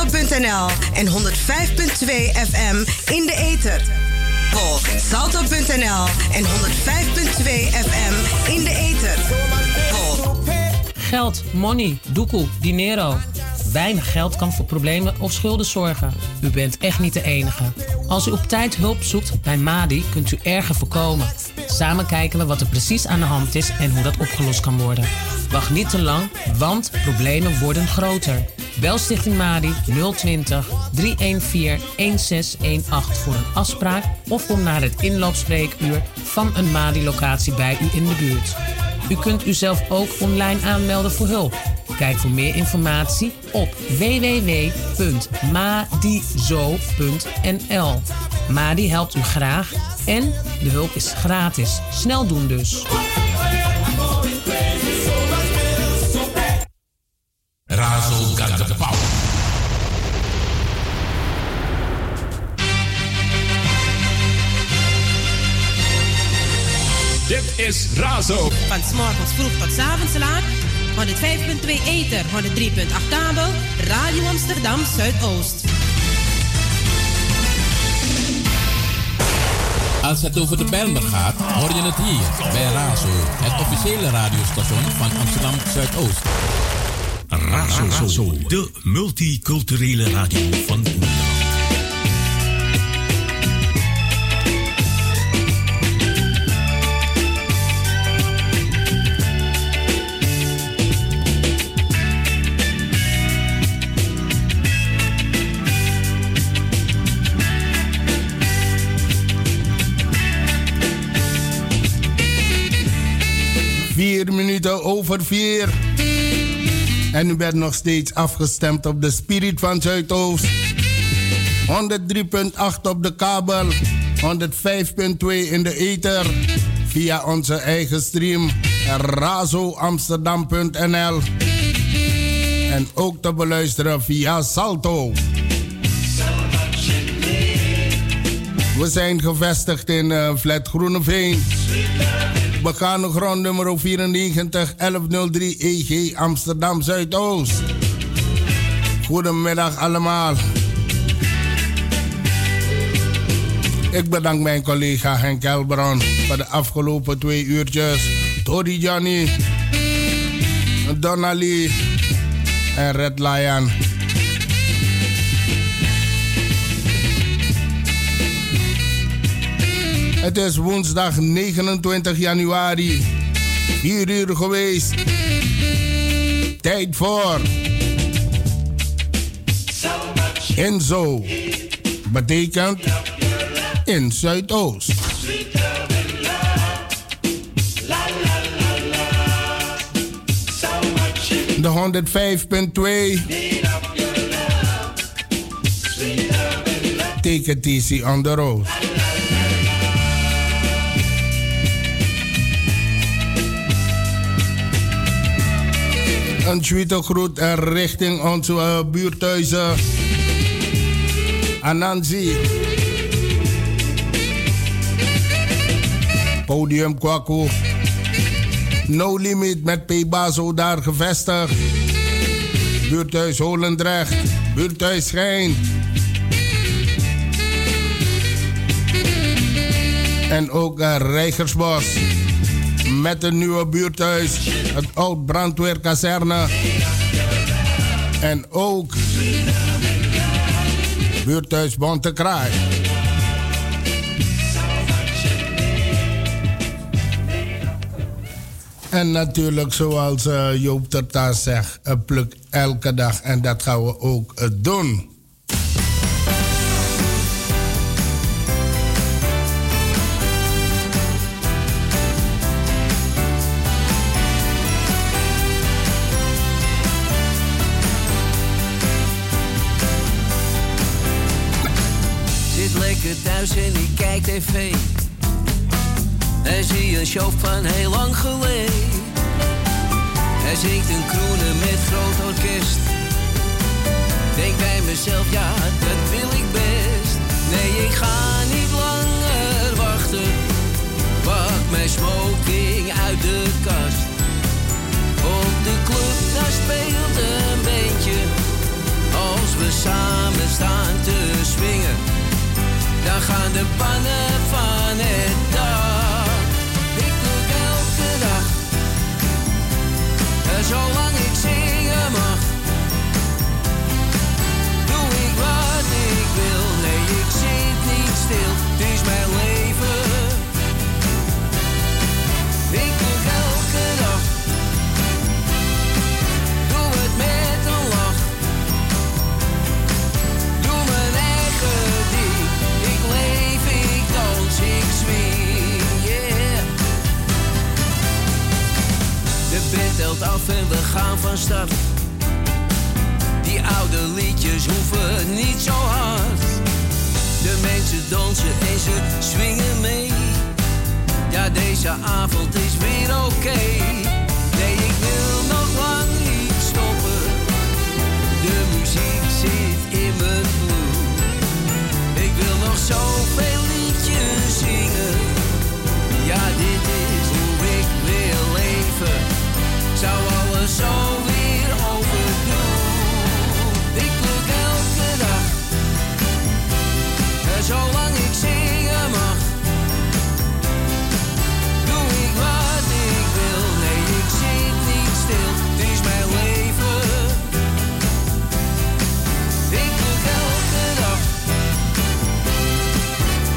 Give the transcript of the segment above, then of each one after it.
salto.nl en 105.2 FM in de ether. Volg salto.nl en 105.2 FM in de ether. Volg. Geld, money, doekoe, dinero. Weinig geld kan voor problemen of schulden zorgen. U bent echt niet de enige. Als u op tijd hulp zoekt bij Madi, kunt u erger voorkomen. Samen kijken we wat er precies aan de hand is en hoe dat opgelost kan worden. Wacht niet te lang, want problemen worden groter. Bel Stichting Madi 020 314 1618 voor een afspraak of kom naar het inloopspreekuur van een Madi-locatie bij u in de buurt. U kunt uzelf ook online aanmelden voor hulp. Kijk voor meer informatie op www.madizo.nl. Madi helpt u graag en de hulp is gratis. Snel doen dus. Razo got the power. Dit is Razo. Van 's morgens vroeg tot 's avonds laat. 105.2 ether, 103.8 kabel. Radio Amsterdam Zuidoost. Als het over de Bijlmer gaat, hoor je het hier bij Razo, het officiële radiostation van Amsterdam Zuidoost. Razo, de multiculturele radio van Nederland. 4 minuten over 4. En u bent nog steeds afgestemd op de Spirit van Zuidoost. 103.8 op de kabel. 105.2 in de ether. Via onze eigen stream razoamsterdam.nl. En ook te beluisteren via Salto. We zijn gevestigd in Flat Groeneveen. Begane grond nummer 94 1103 EG Amsterdam Zuidoost. Goedemiddag allemaal. Ik bedank mijn collega Henk Elbron voor de afgelopen 2 uurtjes. Tori Johnny, Donnelly en Red Lion. Het is woensdag 29 januari, 4 uur geweest. Tijd voor Enzo. Betekent in Zuidoost. De 105.2. Take it easy on the road. Een tweede groet richting onze buurthuizen. Anansi. Podium Kwaku. No Limit met P-Bazo daar gevestigd. Buurthuis Holendrecht. Buurthuis Schijn. En ook Rijgersbos. Met een nieuwe buurthuis. Het oud brandweerkazerne. En ook buurthuis Bontekraai. En natuurlijk, zoals Joop Terta zegt, pluk elke dag. En dat gaan we ook doen. Thuis en ik kijk tv. En zie een show van heel lang geleden. Hij zingt een kroenen met groot orkest. Denk bij mezelf, ja, dat wil ik best. Nee, ik ga niet langer wachten. Pak mijn smoking uit de kast. Op de club, daar speelt een beentje. Als we samen aan de pannen van het dak. Ik pluk elke dag, zolang ik zingen mag. Doe ik wat ik wil, nee ik zit niet stil, het is mijn leven. Ik pluk elke dag, doe het met een lach. Doe mijn eigen ding, ik leef, ik dans, ik swing, yeah. De band telt af en we gaan van start. Die oude liedjes hoeven niet zo hard. De mensen dansen en ze swingen mee. Ja, deze avond is weer oké. Nee, ik wil nog lang niet stoppen. De muziek zit in mijn bloed. Ik wil nog zoveel liedjes zingen. Ja, dit is hoe ik wil leven. Zou alles zo weer overdoen. Ik pluk elke dag, zolang ik zingen mag. Doe ik wat ik wil, nee ik zit niet stil, het is mijn leven. Ik pluk elke dag,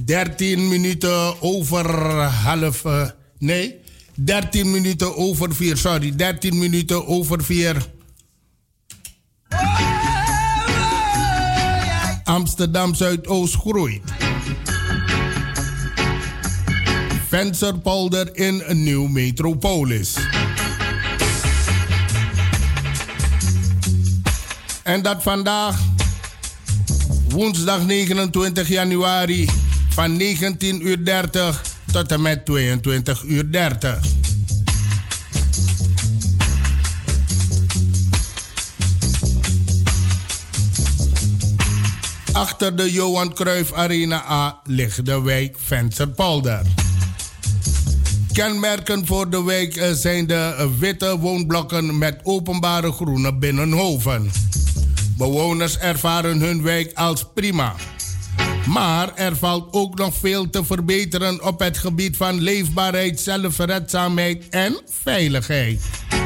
13 minuten over 13 minuten over 4. Sorry, 13 minuten over 4. Amsterdam Zuidoost groeit. Vensterpolder in een nieuw metropolis. En dat vandaag, woensdag 29 januari, van 19:30 tot en met 22:30. Achter de Johan Cruijff Arena A ligt de wijk Vensterpolder. Kenmerken voor de wijk zijn de witte woonblokken met openbare groene binnenhoven. Bewoners ervaren hun wijk als prima. Maar er valt ook nog veel te verbeteren op het gebied van leefbaarheid, zelfredzaamheid en veiligheid.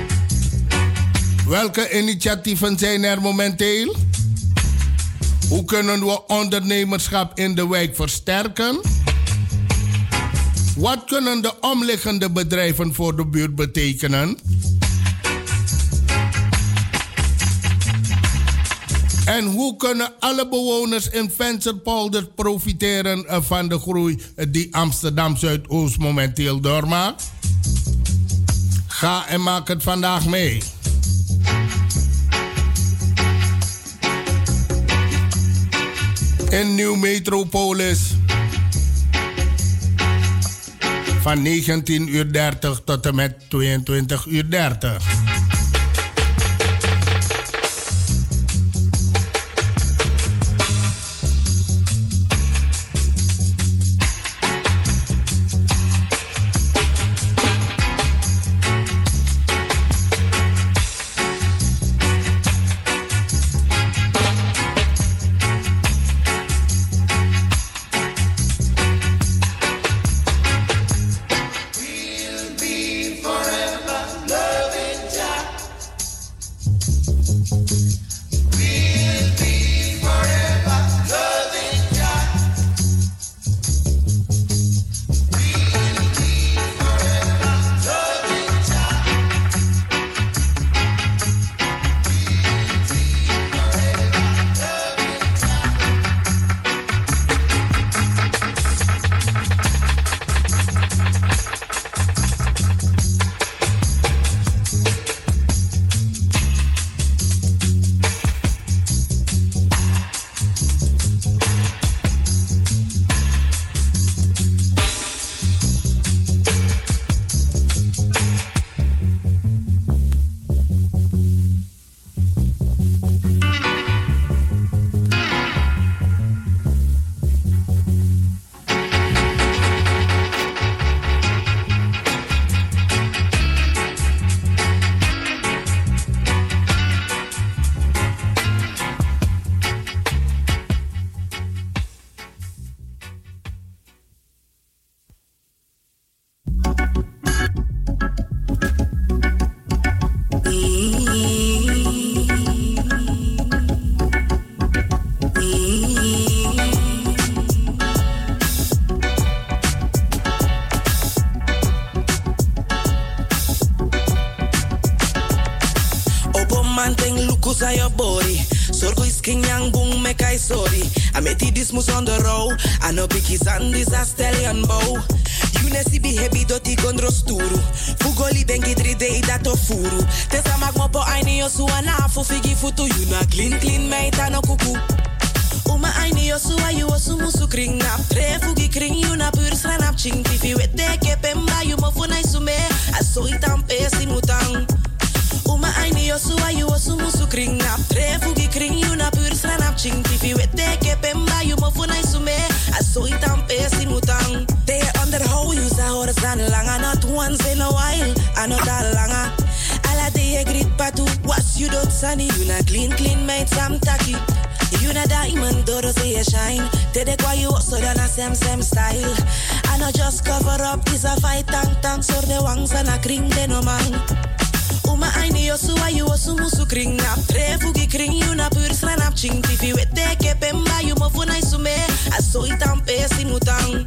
Welke initiatieven zijn er momenteel? Hoe kunnen we ondernemerschap in de wijk versterken? Wat kunnen de omliggende bedrijven voor de buurt betekenen? En hoe kunnen alle bewoners in Vensterpolder profiteren van de groei die Amsterdam Zuidoost momenteel doormaakt? Ga en maak het vandaag mee. In Nieuw Metropolis van 19:30 tot en met 22:30. Mus on the road, I know biggie Sandys a stallion bow. You nesi be heavy doti gondro sturu. Fugoli bengi 3 day dat of furu. Tesa magmopo aini yosu anafu figi futu. You na clean meita no kuku. Uma aini yosu ayu osu musu kring nap. Tre fugi kring you na pur sranap ching. Tifi wete kepemba you mofu na isume. Aso itam pesi mutang. Uma aini yosu ayu osu musu kring nap. Tre fugi kring you na pur sranap ching. Tifi wete kepemba you mofu na isume. Aso itam pesi mutang. They underhold you sa horizon langa. Not once in a while, I know that langa. Ala de grit patu. Was you dot sunny, you na clean made some tacky. You na diamond, dodo say you shine. Tede kwa you also done a same style. I know just cover up, is a fight tank. So the wangs and a kring de no man. Uma aini yosu ayu osu musu kring nap. Tre fugi kring you na pur sranap ching. Tifi wete kepemba you mofu na isume. Aso itam pesi mutang.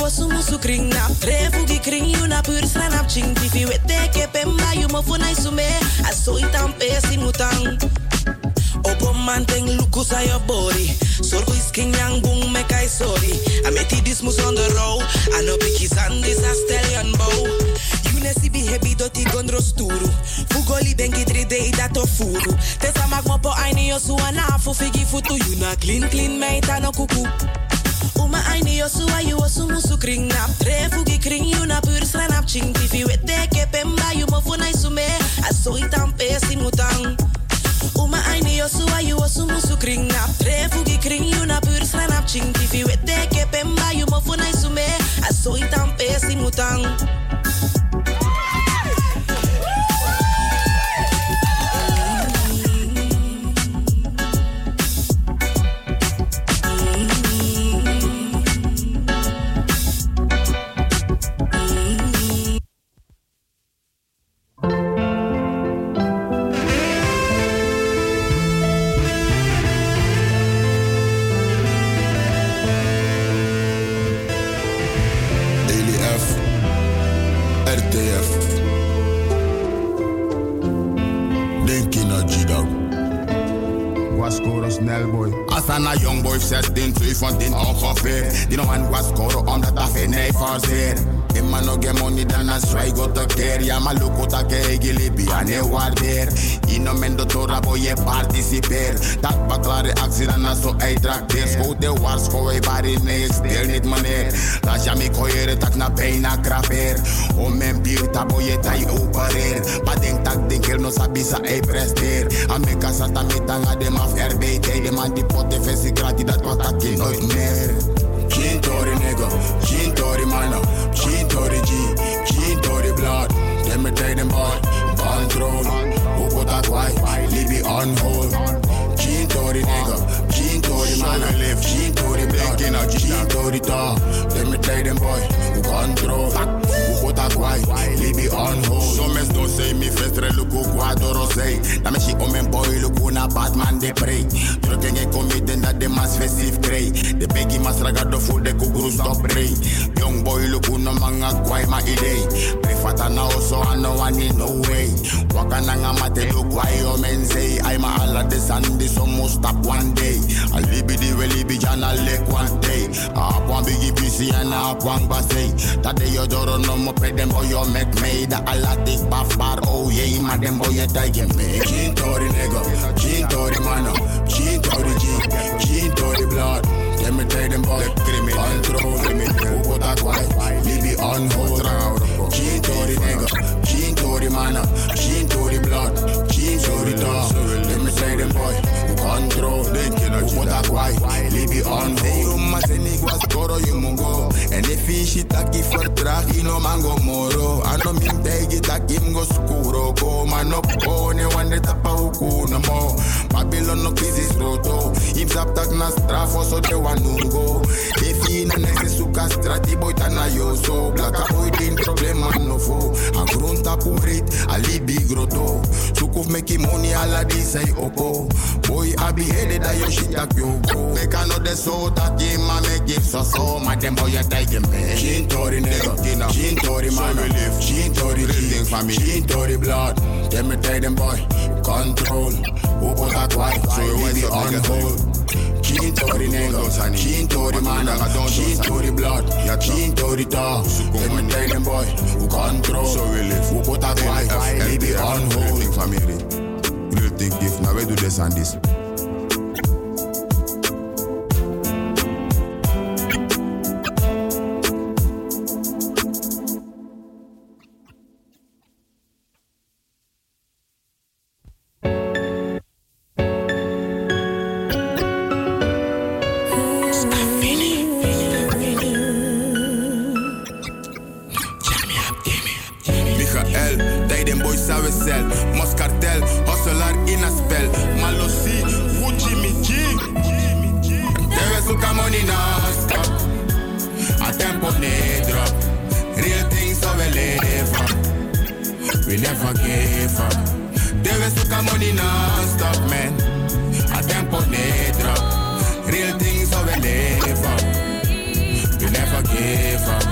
wasu musu kring na trefu gi kring you na pur sranap ching tifi wete ke pemba you mo funa isume aso itam pesi mutang opo manteng lukus aan your body sorgo is king yang boom me kai sorry I met this mus on the road I know biggie sandis a stallion bow you nesi be happy doti gondro sturu fugoli bengi 3D dato furu tesa magmo po aini yo suana fu figi futu you na clean meita no kuku Uma aini yo suwa you osu musu kring nap trefu gi kring you na pur sranap ching tifi wete ke pemba you mo funa isume aso itam pesi mutang Uma aini yo suwa you osu musu kring nap trefu gi kring you na pur sranap ching tifi wete ke pemba you mo funa isume aso itam pesi mutang Asana young boy 16, van din ongeveer. Die nog aan was scoren omdat dat geen nee forceer. In man no get money dan a strike go te keer. Ja maar look wat ik gilibi aan je waardeer. In een mendo tora boy je participeer. Dat baklare actie dan a zo uitrakteer. Schoot de wars voor je bari nee stil niet meneer. Laat je me koeien tak na bijna krapeer. Om mijn bier tabo je tai opereer. Maar denk tak denk no sabisa ei presteer. Amerika sata metanga dem af RBT. De man die potte vesi gratis dat wat dat geen nooit meer. Geen tori nigga, geen tori manna, geen tori G, geen tori blood. Let me take them boy, control. Hoe put that white, leave it on hold. Geen tori nigga, geen tori manna, geen tori blood. Geen tori talk, let me take them boy, control. Hoe put that white, leave it on hold. Some men don't say me festre luku guadoro say. Na me she omen boy luku na Batman de prey. Drukken en cometen dat de mas festive grey. De begi mas ragado voor de kuguru stop ray. Young boy luku no manga kwai ma idee. Prefata na oso ano wani no way. Wakana nga mate luku ay omen say. Ay ma ala de sandi so must stop one day. A libidi we libi jana lek one day. A ap one bigi PC and a ap one basay. Dat de yodoro no mo pe dem boy yo make me. Da ala tik baf bar oh yeah. Ma dem boy ye take me. Geen tori nigga, geen tori manna. Geen tori G, geen tori blood. Let me take them boy, control. Let me who put that white, leave it on hold. Geen tori nigga, geen tori manna. Geen tori blood, geen tori dog. Let me take them boy, control. Who put that white, leave it on hold. You must say niggas goro you mungo. And if he shit taki vertrag, you no mango moro. I no min tegi taki mgo skuro. Go man up, go ne wande tapa uku no mo. Babylon no crisis roto. Im sap tak na strafo so de wanungo. If he na nese suka strati boy tana yo so. Blaka boy din problema no fo. A grunta purit, a libi grotto. Sukuf meki money ala di say opo. Boy abi headed da yo shit tak yo go. Meka no de so that ye ma me give so. Ma dem boy ya take him man. Geen tori nigga, geen tori man. Geen tori G, geen tori blood. Let me take them boy, control. Who put that white, so you leave it on hold. Geen tori nigga, geen tori man. Geen tori blood, geen tori talk. Let me take them boy, who control. So we live. Who put that white, leave it on hold. Family, real thing gift. Now we do this and this. Moscartel, hustler in a spell. Malosi, Gucci, Mickey. Deve suka money non-stop. A tempo ne drop. Real things so we live up. We never give up. Deve suka money non-stop, man. A tempo ne drop. Real things so we live up. We never give up.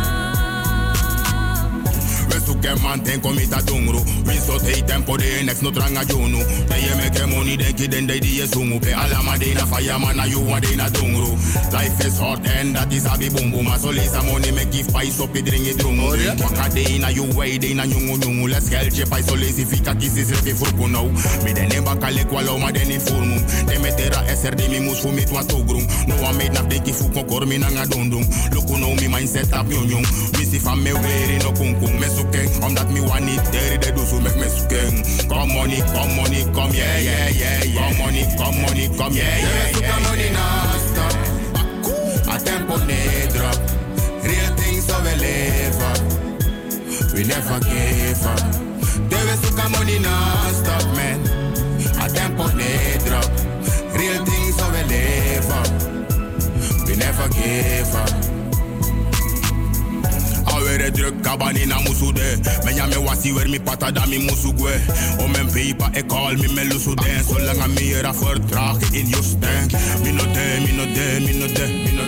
Make man ten komita dungru. We so take tempo de next no tranga junu. They make money denki den they die sungu. Pe alama de na fireman na you wa de na dungru. Life is hot and that is a be boom boom. So lisa money make give pies up it drink it drungu. Waka de na you way de na nyungu nyungu. Let's get je pies so lazy fika kisi se furku now. Me de neba kale kwalo ma de ni furmu. De metera SRD mi mus fu mit wa togrum. No one made na deki fu kokor mi na nga dundum. Look no mi mindset up nyung nyung. Mi si fam me wearing no kung kung. Me suke omdat mi want it there de do so make me suke. Come money, come yeah yeah yeah yeah. Come money, come yeah yeah yeah. Come money non stop. A tempo ne drop. Real things so we live up. We never give up. Debe suka money non stop man. A tempo ne drop. Real things so we live up. We never give up. Awere druk kabani na musude. Menya me wasi wer mi pata da mi musugwe. O men paper e call me me lusude. So lang a mi era vertraag in your stank. Mi no de.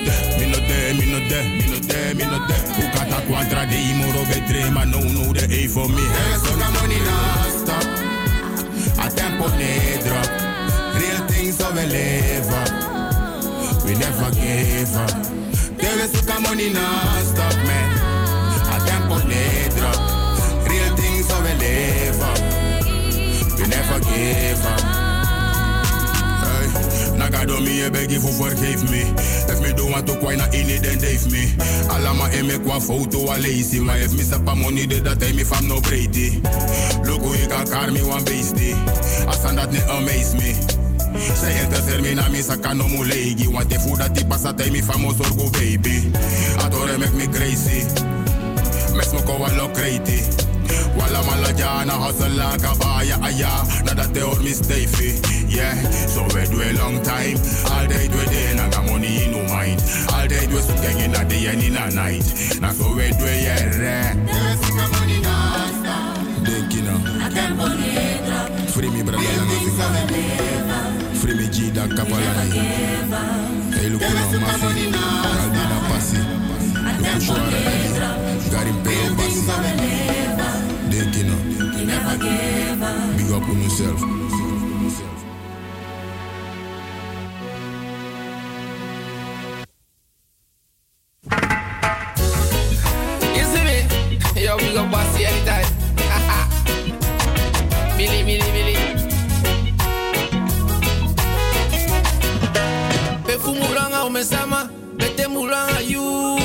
Ukata quadra de imoro betre ma no de A for me. Hey, so na money non stop. A tempo ne drop. Real things so we live up. We never give up. Debe suka money non stop man. A tempo ne drop. Real things so we live up. We never give up. Hey, nagado mi e begi fu forgive me. If me don't want to quite na in it then dave me. Alama e me kwa foto a lazy. Maar if me sapa money de dat me fam no Brady. Look hoe ik elkaar me one beastie. Asan dat ne amaze me. Zij interesseert me na mi saka no mulegi. Want de food dat die passa tij mi famos orgo baby. Adore make me crazy. Mes mo ko walo crazy. Walla mala jana hustle like a baya aya. Na dat te hoor mi stevie. Yeah, so we do a long time. All day do day na ga money in no mind. All day do so gang in a day and in a night. Na so we do yeah. There's some money non stop. Denk you know. I can't believe it. Free me brother lang a Free me G da kapalai. Hey look no mafi. Albina passi. Look shora. Garim pay passi. Denk you know. Big up on yourself. You see me? Yo, we go bossy anytime. Millie. Pe fu muranga o mesama, bete muranga you.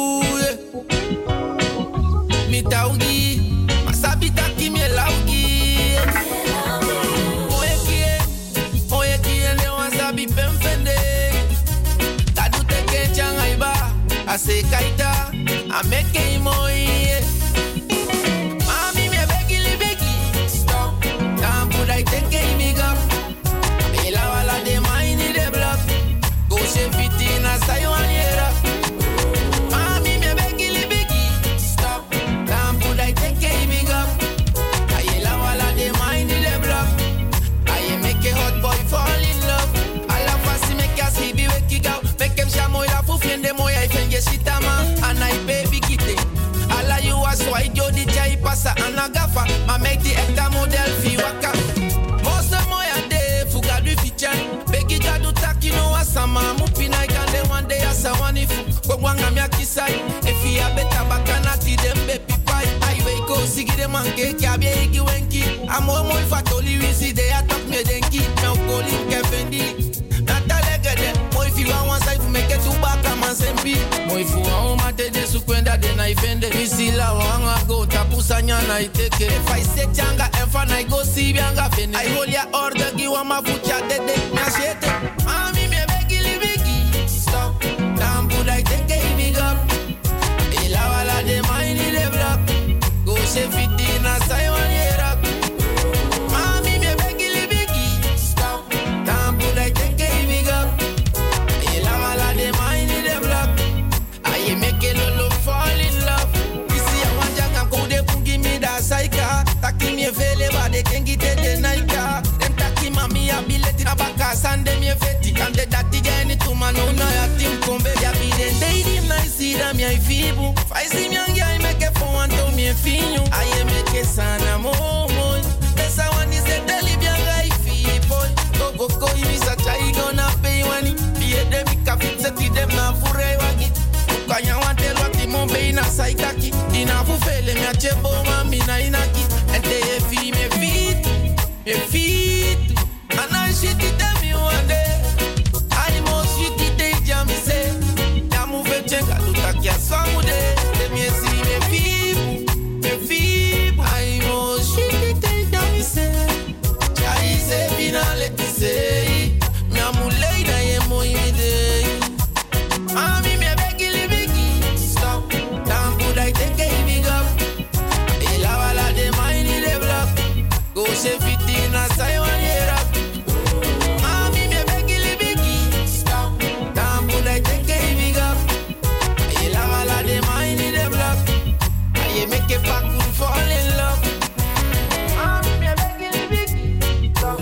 Mi taugi, masabi taki mi laugi. Oye kie le wasabi pemfende. Tadu teke changa iba, ase kaita, ameke imoye. I take a big up. Me la wala de mine de block. Go she fit in a say one year. Mami me begi stop. Damn put I take a big up. I la wala de mine de block. I make a hot boy fall in love. I la fasi make us he be wake out. Make him shamo ya fu fiende moya ifenge shitama. And I baby kite. Ala you was so I do the jai passa and a gaffa. Ma make the ekta model fi waka. Begi gadu taki no asama mupina ikande one day asa wanifu kwa wanga mya kisai efi ya beta bakana ti dembe pipai aiwe ko sigide manke kabye igi wenki amo mo fatoli wisi de atak me denki me okoli kefendi natalegede mo ifi wa one side fu make to baka mansembi mo ifu wa mate de sukwenda de na ifende wisi la wanga go tapusa nyana iteke if I say changa enfa na go si bianga fene I hold ya order gi wa mafucha dede na shete mami me begi stop damn put I take a big up ila wala de mine de block go she fit in a say one year up mami me begi stop damn put I take a big up ila wala de mine de block I make a lolo fall in love isi ya wanja kam ko de pungi mi da saika taki mi vele ba de kengi de naika dem taki mami ability abaka sande mi feti kande dati geni tu mano na ya tim kombe ya bi de dey dim na isi da mi ai fibu faisi mi angi ai make for one to mi me finyo. Aye me ke sana momo. Esa wani se deli bianga ifi boy. Go go imi sa chai gonna pay wani. Pie de mi kafit se ti dem na fure wagi. Kanya wante loti mo be na saikaki. Ina fu fele mi achebo mami na inaki. Ente e fi me fit. Me fit. And I shit it tell me one day. I must shit it day jam me say. Ya move chenga tutakia swangu de. Let me see me fit. Me fit. I must shit it day jam me say. Chai se finale ti say. Mi amulei na ye mo imide. Mami me begili bigi. Stop. Damn good I take a big up. Ela wala de mine in the block. Go se fit in a say one year up. Mami me begili bigi. Stop. Damn good I take a big up. Ela wala de mine in the block. I make a pack to fall in love. Mami me begili bigi. Stop.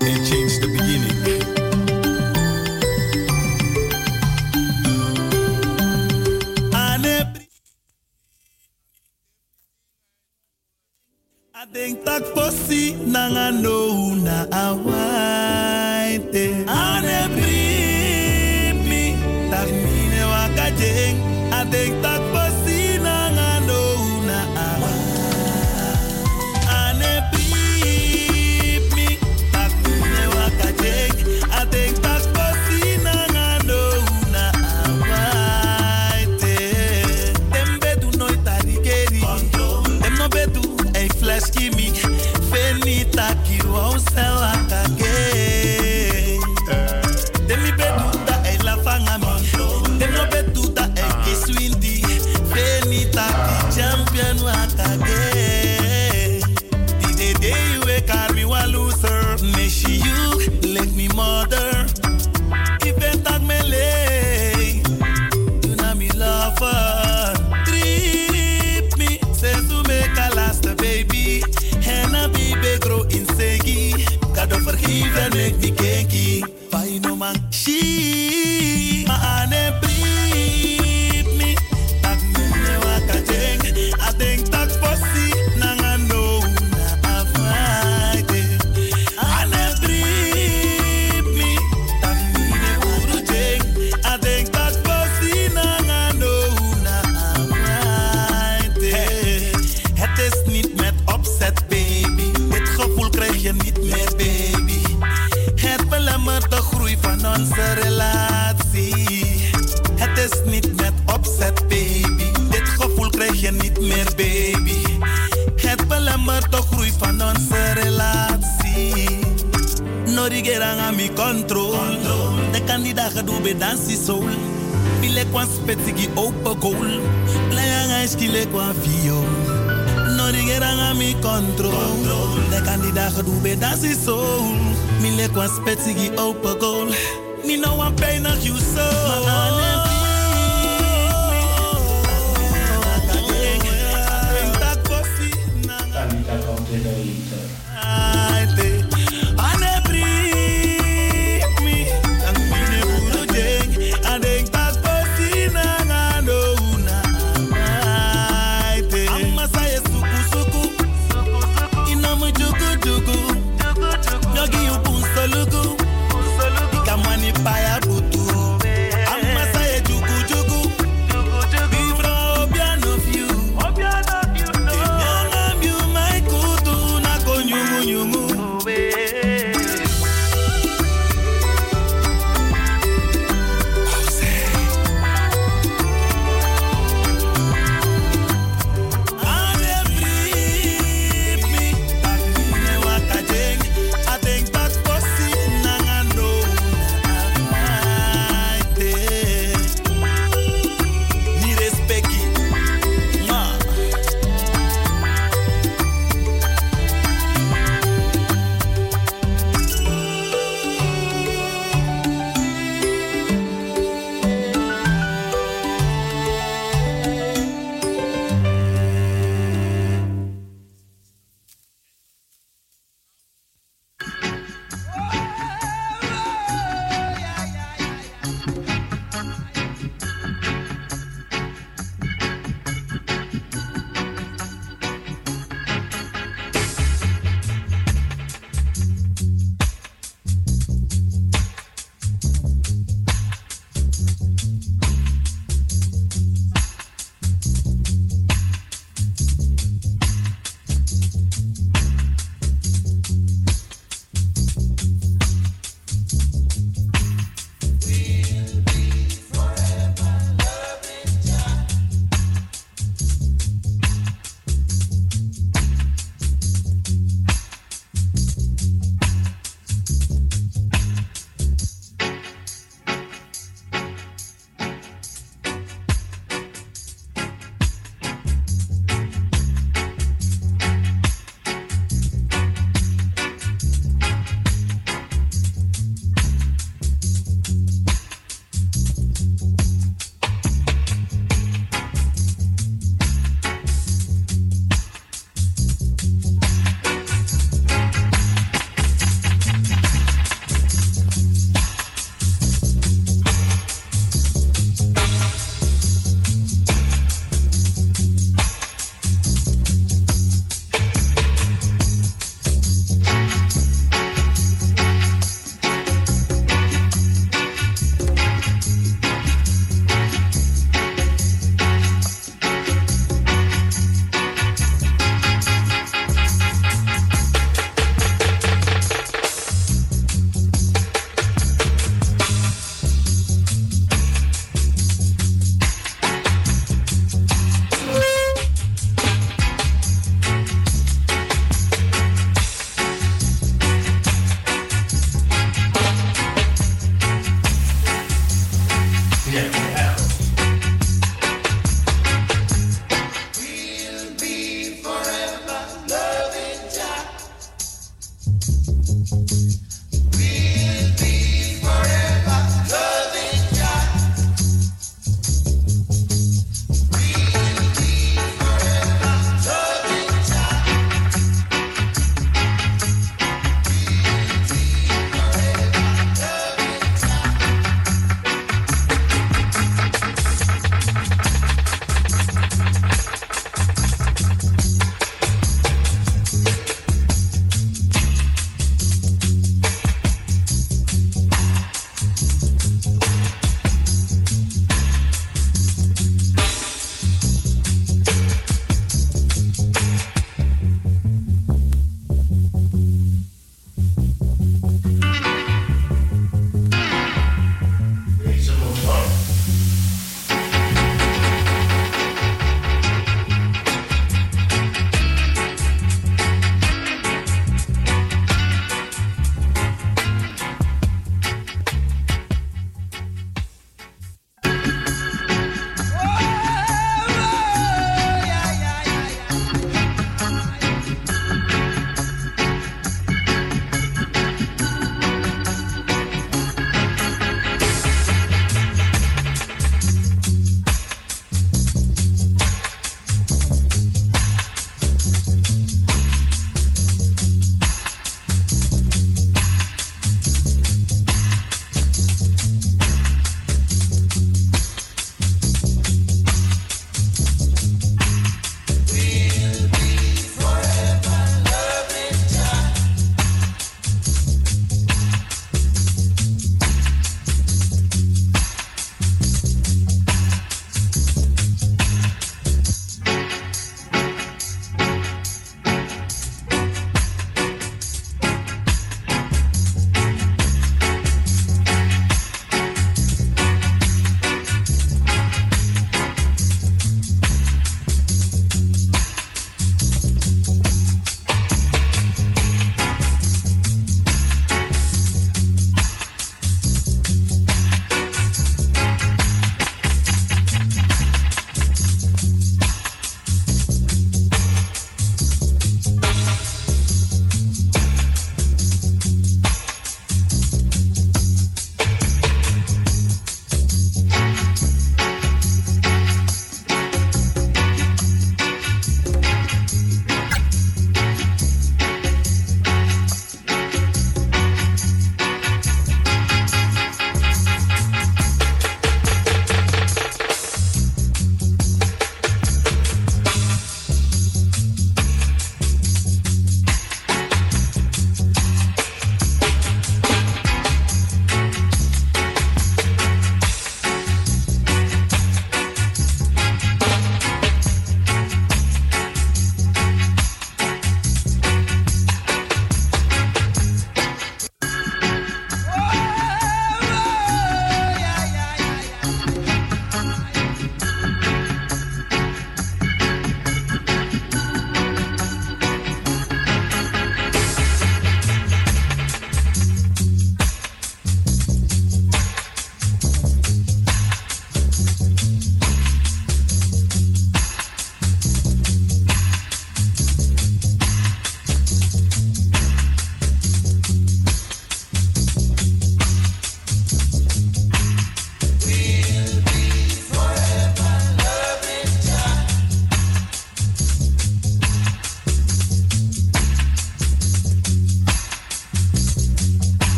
and change the beginning. I denk tak posi nanga no na awaite. Ane primi tak mine wakajeng. I denk tak posi nanga no na awaite. Ane primi tak mine wakajeng. I denk tak posi nanga no na awaite. Dem bedu nooit tarigeri. Dem no bedu flash kimi fenita ki wou sela kage demi bedu da e la fangami demi bedu da e kiswindi fenita ki champion wa kage the day you wake up me wa loser me she you like me mother even tak mele you na me lover trip me says to make a last baby en a baby grow in segi God vergeven ik die kenkie Pai no man she ma ane brief me tak mune wakajeng I think tak posi nanga no na afraide ane brief me tak mune urujeng I think tak posi nanga no na afraide het is niet met opzet baby dit gevoel krijg je niet meer baby het belemmert de groei van onze relatie het is niet met opzet baby dit gevoel krijg je niet meer baby het belemmert de groei van onze relatie no rigerang a mi control de kandidaat doe be dansi soul bile kwa spetigi open goal playang a skile kwa fio no rigerang a mi control de kandidaat doe be dansi soul bile kwa spetigi open goal me no one pay na you so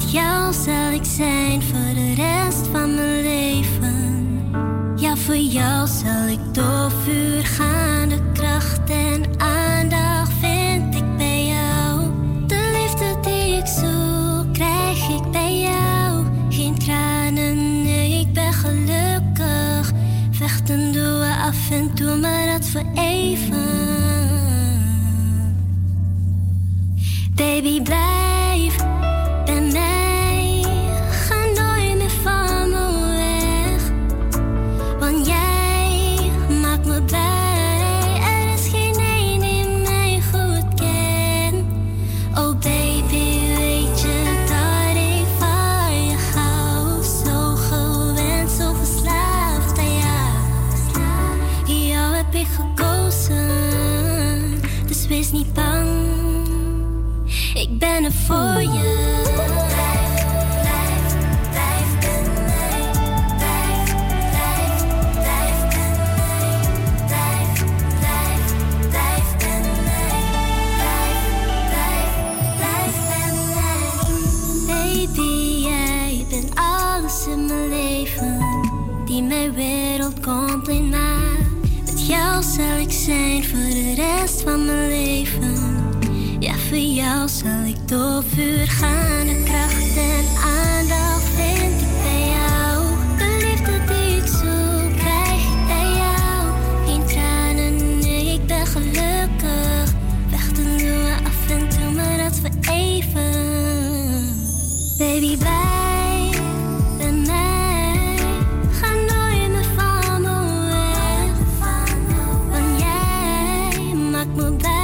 Met jou zal ik zijn voor de rest van mijn leven. Ja, voor jou zal ik door vuur gaan. De kracht en aandacht vind ik bij jou. De liefde die ik zoek, krijg ik bij jou. Geen tranen, nee, ik ben gelukkig. Vechten doen we af en toe, maar dat voor even. Baby, blijf bij mij. Ga nooit meer van me weg. Want jij maakt me blij. Er is geen een die mij goed kent. Oh baby, weet je dat ik van je hou. Zo gewend, zo verslaafd aan jou. Jou heb ik gekozen, dus wees niet bang. Ik ben er voor je. Baby, jij bent alles in mijn leven, die mijn wereld compleet maakt. Met jou zal ik zijn voor de rest van mijn leven. Ja, voor jou zal ik door vuur gaan. De kracht en aandacht vind ik bij jou. De liefde die ik zoek, krijg ik bij jou. Geen tranen, nee, ik ben gelukkig. Vechten doen we af en toe, maar dat voor even. Baby, blijf bij mij. Ga nooit meer van me weg. Want jij maakt me blij.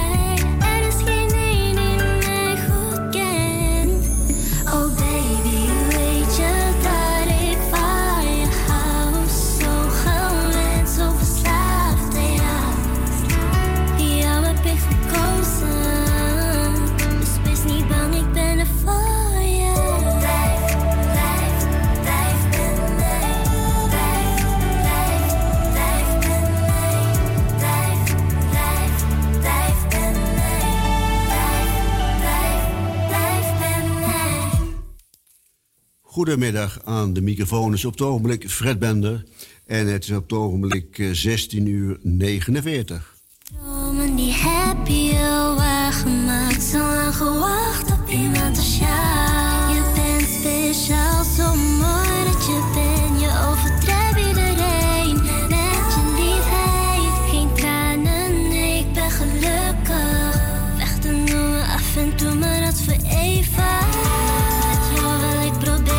Goedemiddag, aan de microfoon is op het ogenblik Fred Bender en het is op het ogenblik 16:49. Dromen die heb je al waargemaakt, zo lang gewacht op iemand als jou. Je bent speciaal, zo mooi dat je bent, je overdrijft iedereen met je liefheid. Geen tranen, nee, ik ben gelukkig. Vechten doen we af en toe, maar dat voor even. Met jou wil ik proberen.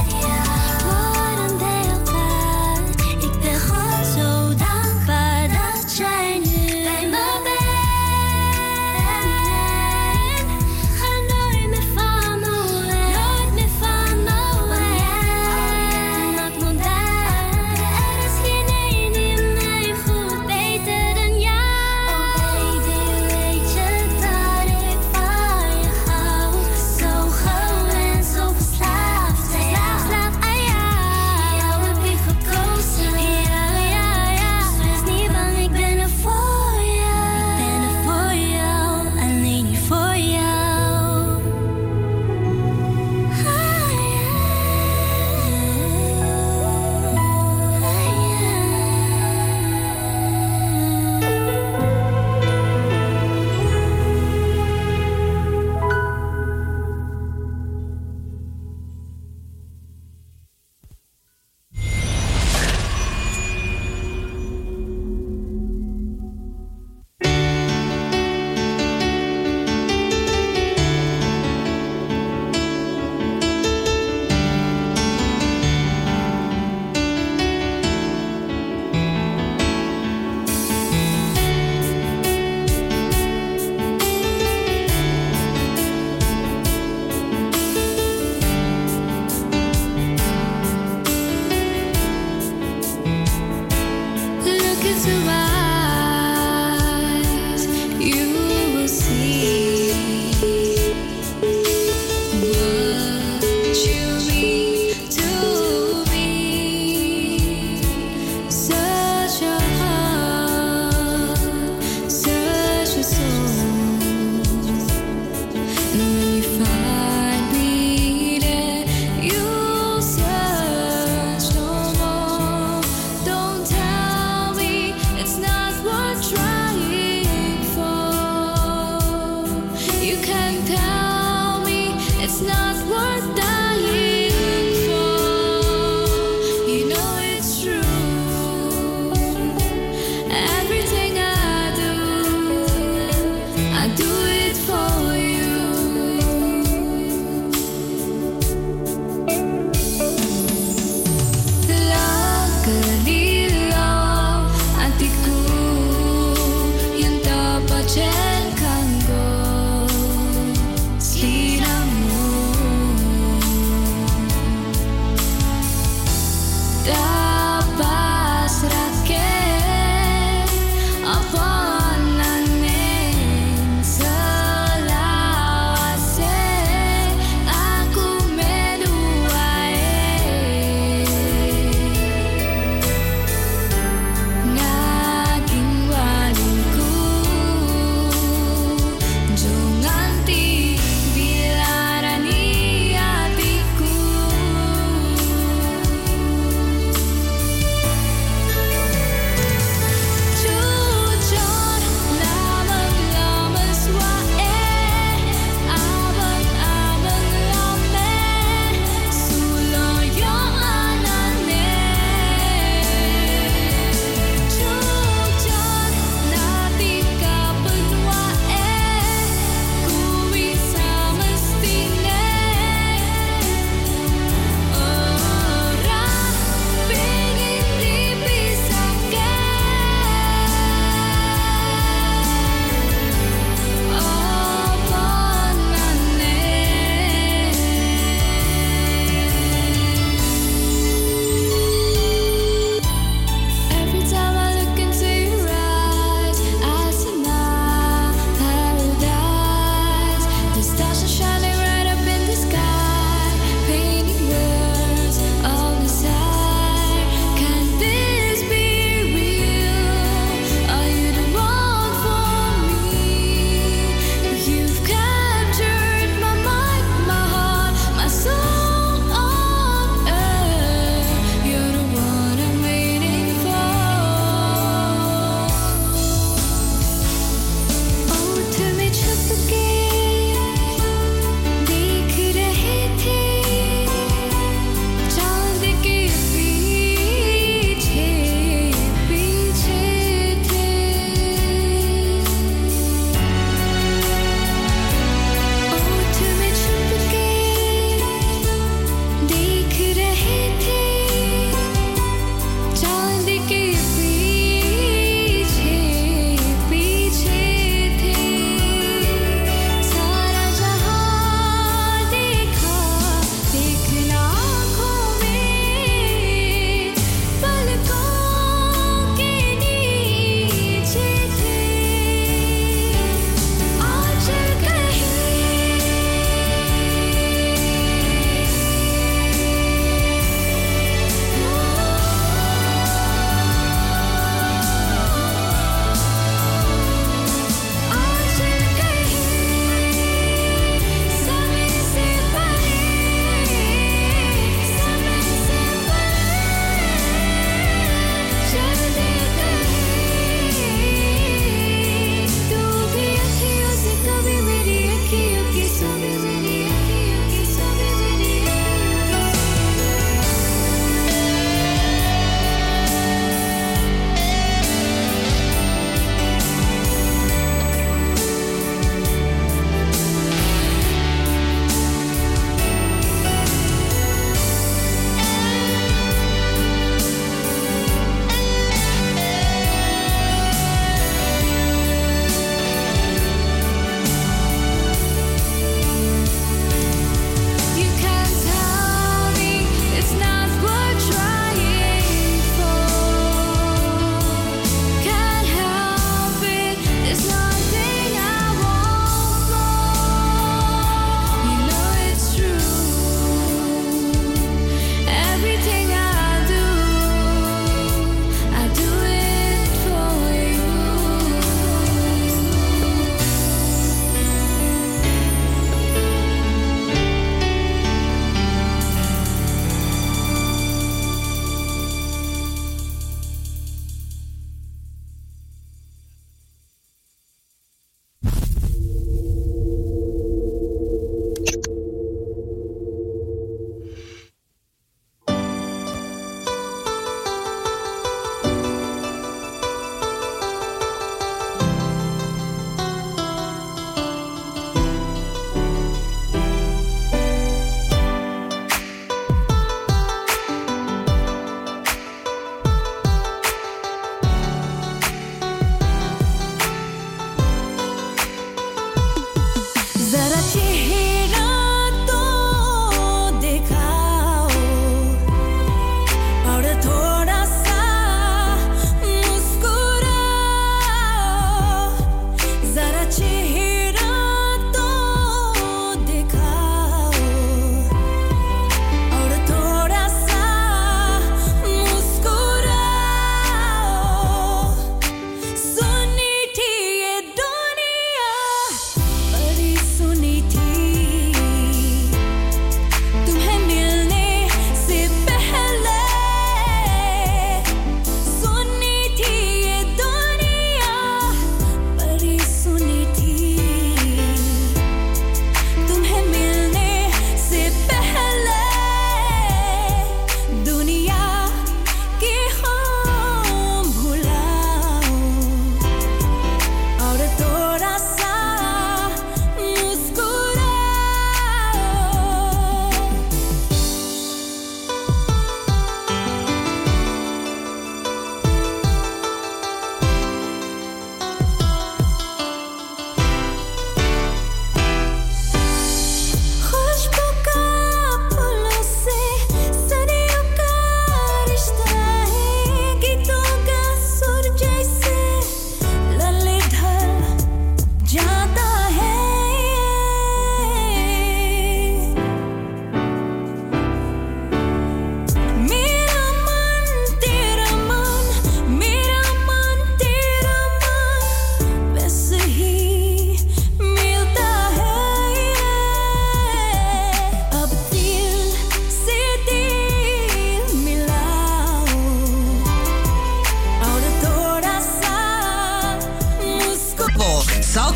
Dankbaar I do it for you. Luckily, love, hatiku yang dapat jengkanggo seliramu. Dapat serake apa nanging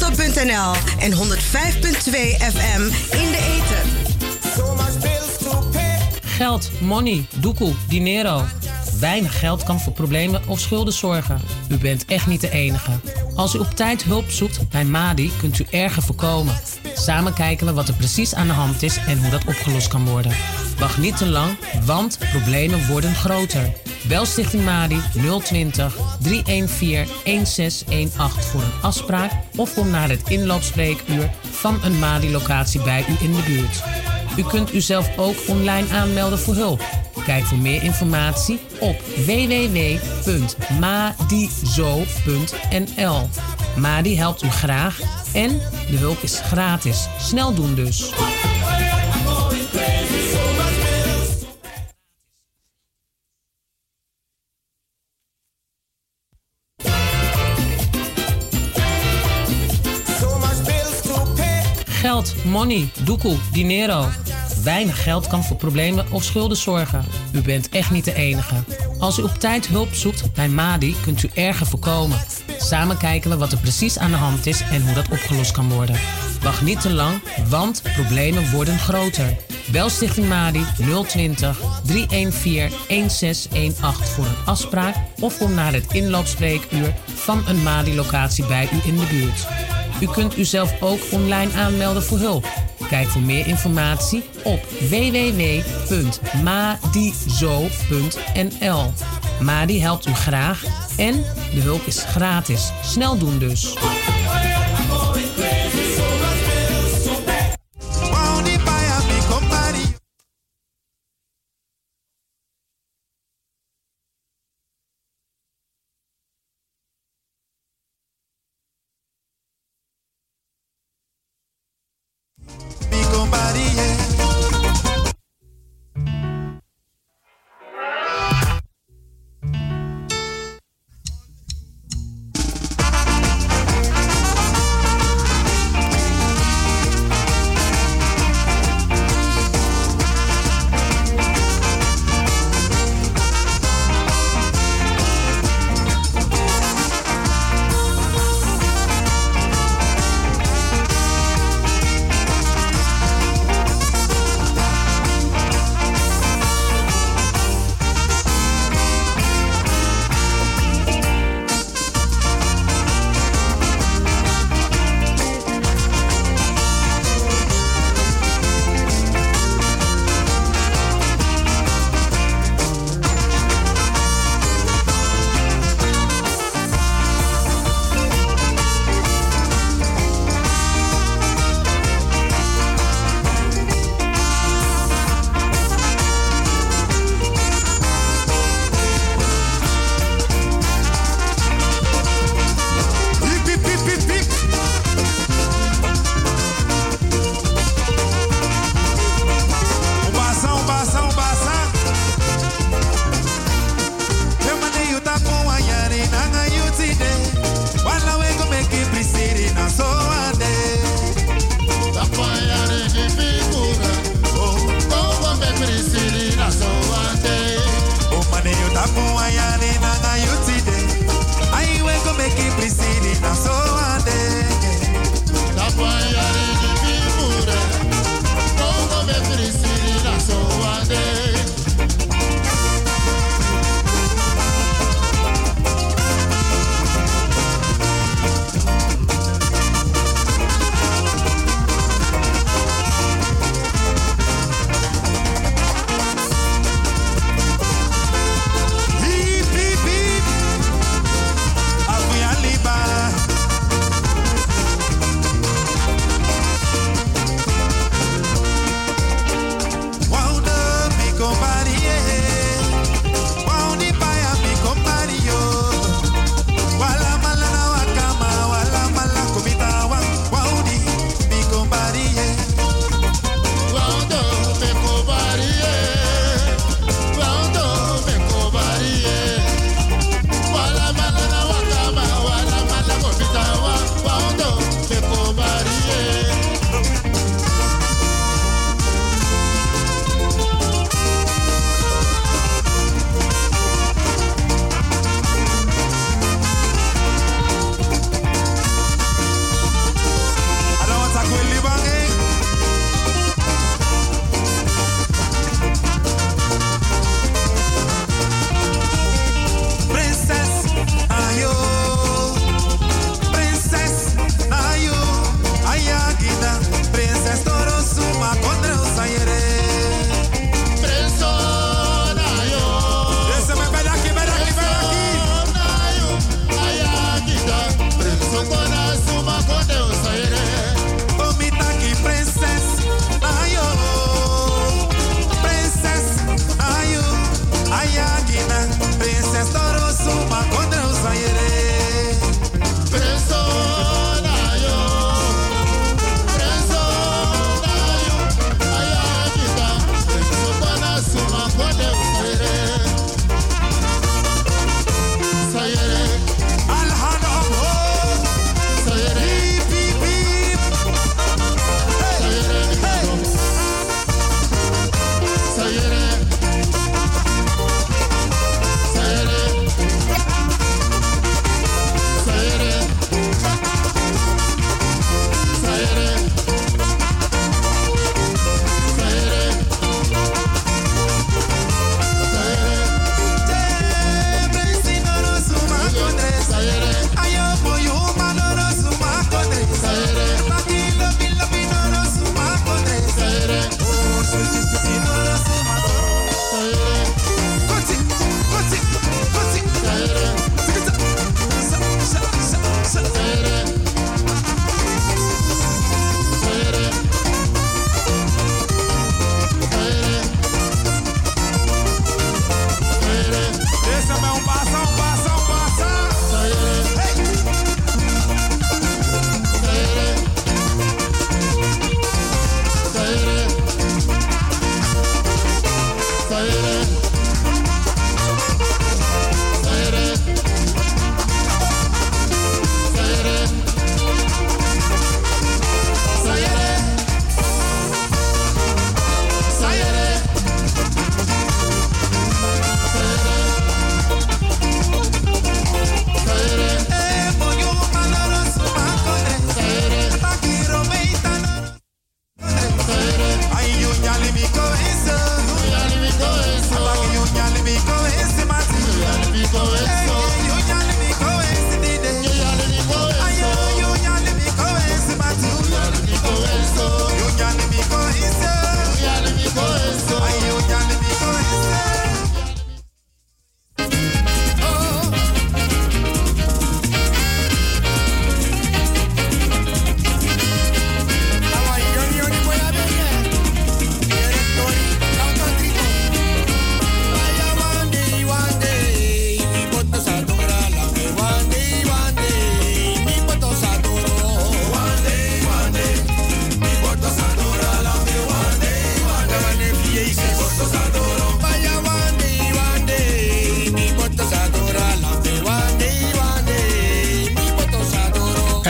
salto.nl en 105.2 FM in de ether. Geld, money, doekoe, dinero. Weinig geld kan voor problemen of schulden zorgen. U bent echt niet de enige. Als u op tijd hulp zoekt bij Madi, kunt u erger voorkomen. Samen kijken we wat er precies aan de hand is en hoe dat opgelost kan worden. Wacht niet te lang, want problemen worden groter. Bel Stichting Madi 020 314 1618 voor een afspraak of kom naar het inloopspreekuur van een Madi-locatie bij u in de buurt. U kunt uzelf ook online aanmelden voor hulp. Kijk voor meer informatie op www.madizo.nl. Madi helpt u graag en de hulp is gratis. Snel doen dus. Geld, money, doekoe, dinero. Weinig geld kan voor problemen of schulden zorgen. U bent echt niet de enige. Als u op tijd hulp zoekt bij Madi, kunt u erger voorkomen. Samen kijken we wat er precies aan de hand is en hoe dat opgelost kan worden. Wacht niet te lang, want problemen worden groter. Bel Stichting Madi 020 314 1618 voor een afspraak of kom naar het inloopspreekuur van een Madi-locatie bij u in de buurt. U kunt uzelf ook online aanmelden voor hulp. Kijk voor meer informatie op www.madizo.nl. Madi helpt u graag en de hulp is gratis. Snel doen dus.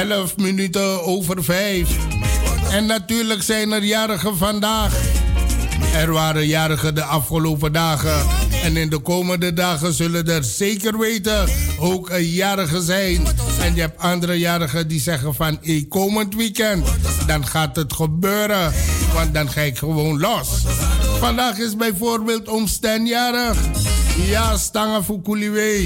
11 minuten over 5. En natuurlijk zijn er jarigen vandaag. Er waren jarigen de afgelopen dagen. En in de komende dagen zullen er zeker weten ook jarigen zijn. En je hebt andere jarigen die zeggen van komend weekend, dan gaat het gebeuren. Want dan ga ik gewoon los. Vandaag is bijvoorbeeld oom Stan jarig. Ja, Stanga Fukuliwe.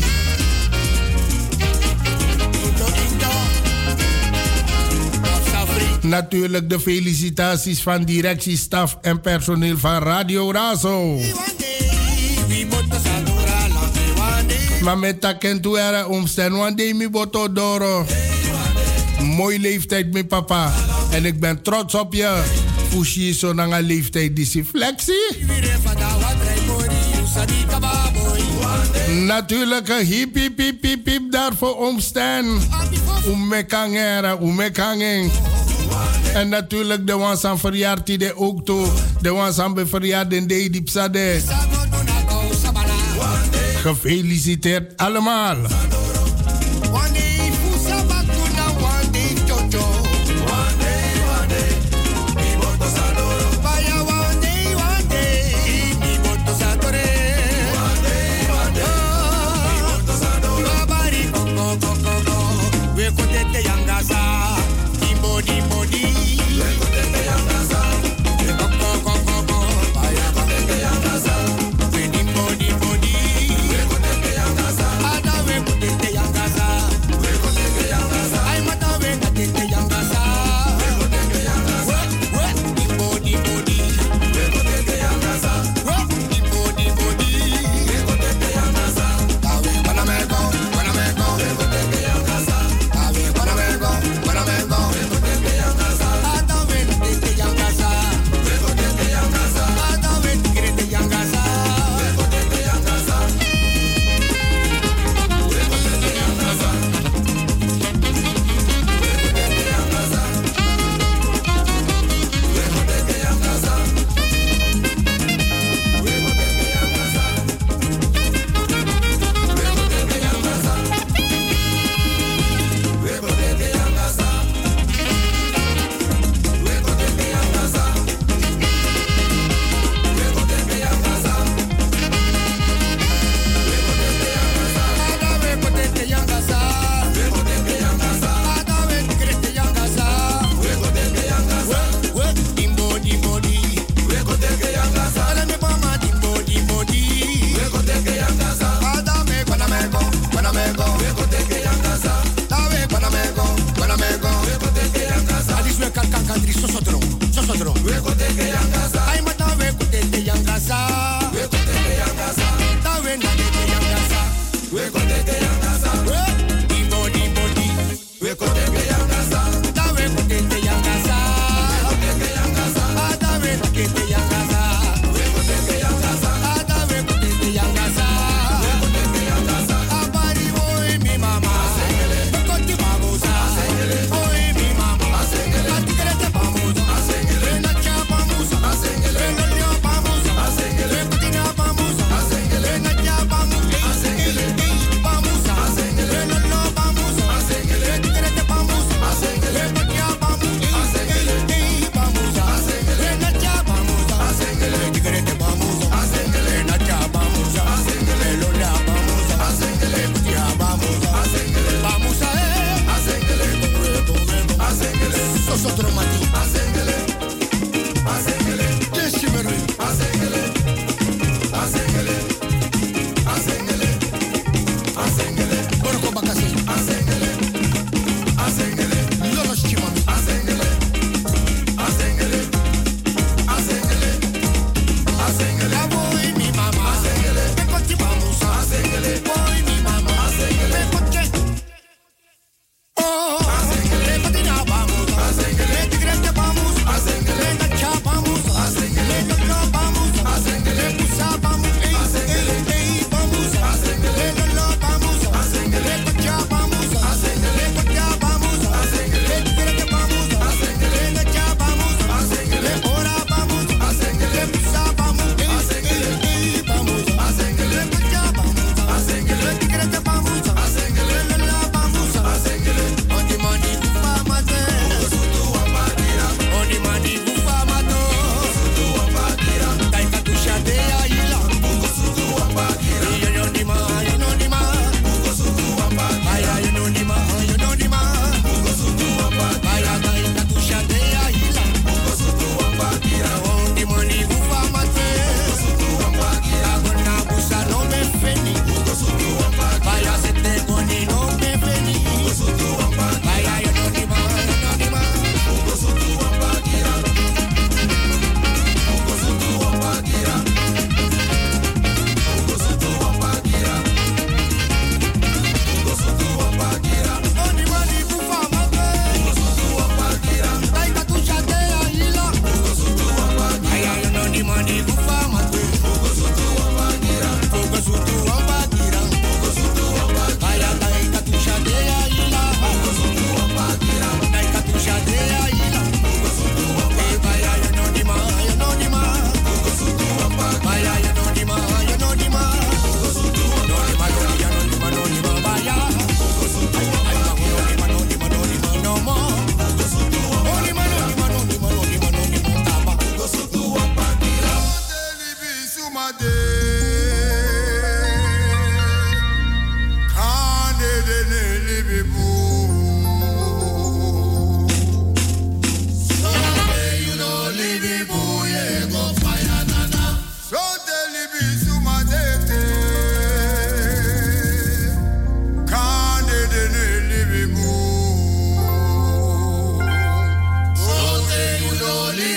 Natuurlijk de felicitaties van directie, staf en personeel van Radio Razo. Maar met takentu era omstaan, want mi boto doro. Mooi leeftijd, mijn papa. En ik ben trots op je. Fushi zo na een leeftijd die flexie. Natuurlijk een hip hip hip hip hip daarvoor omstaan. Umekanging. En natuurlijk de ones aan verjaard die ook toe. De ones aan verjaard in de diepsade. Gefeliciteerd allemaal.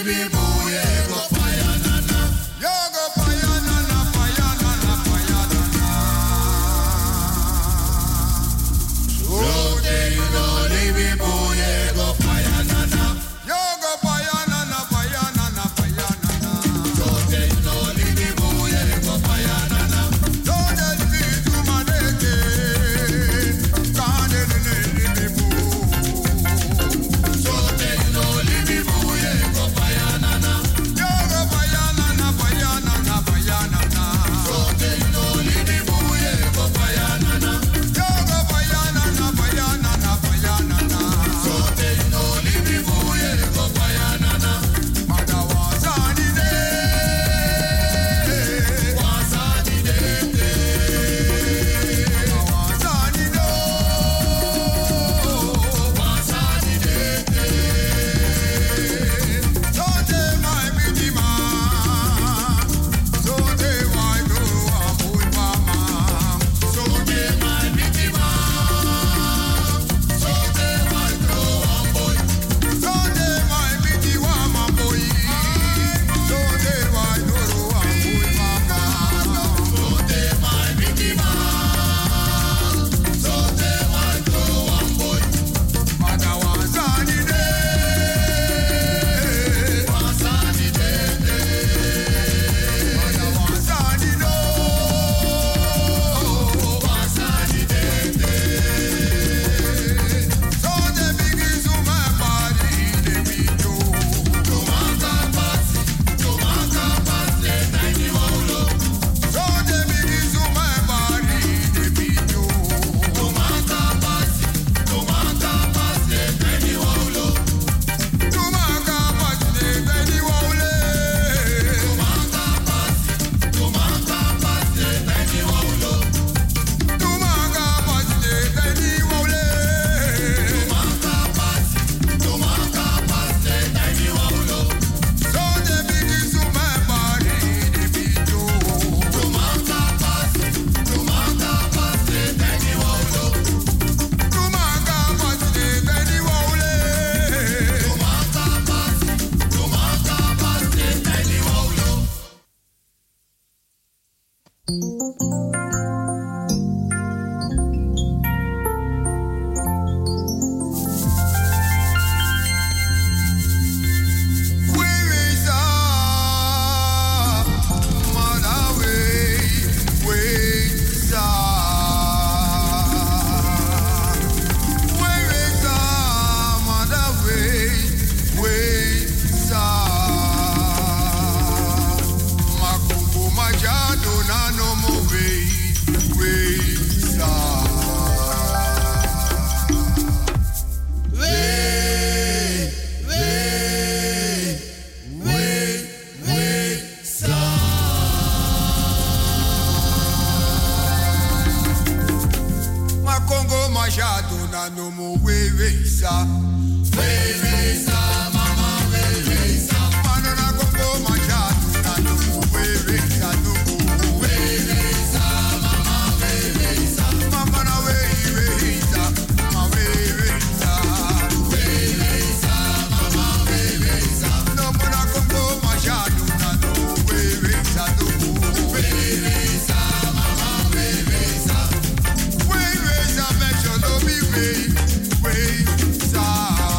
Wait,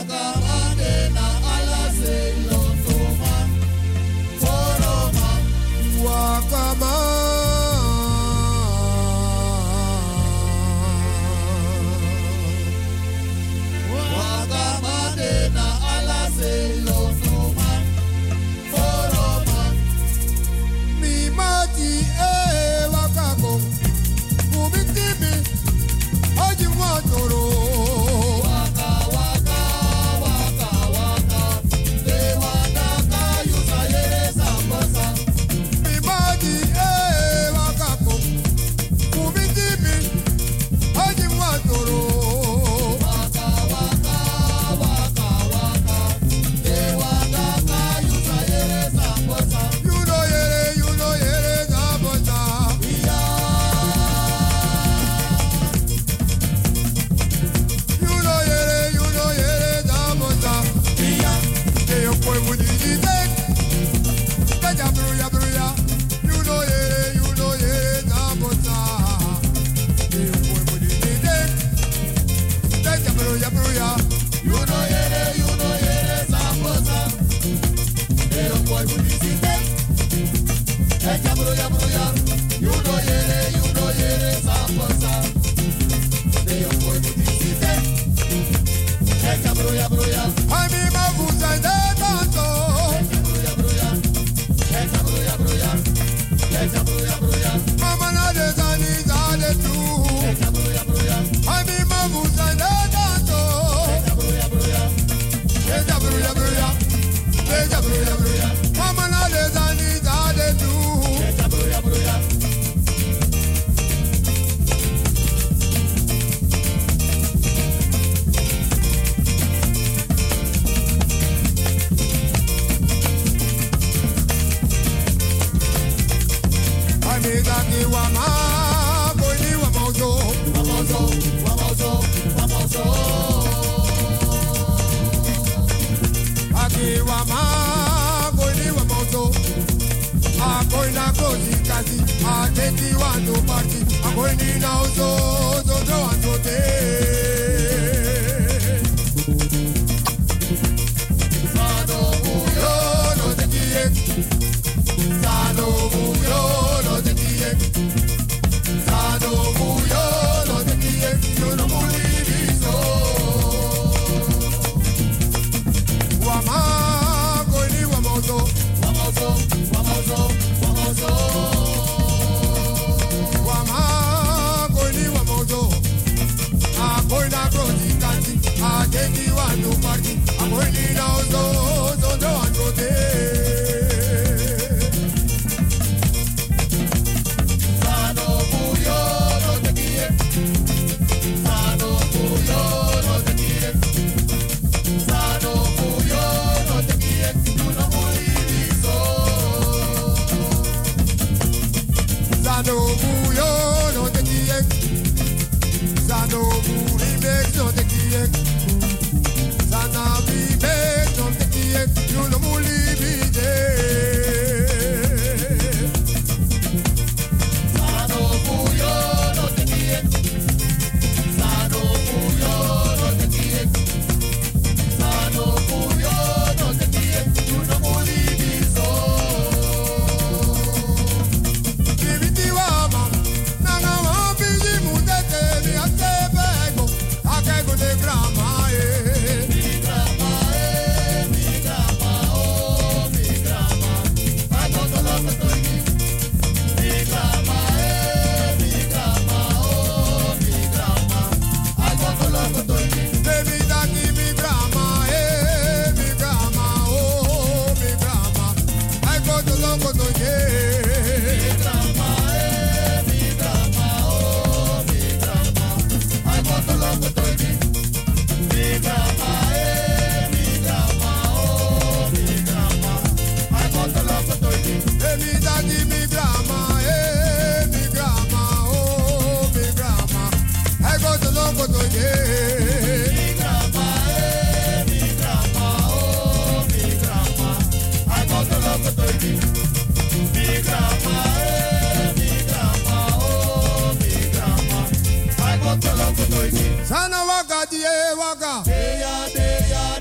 Sana waka die waka. Deya deya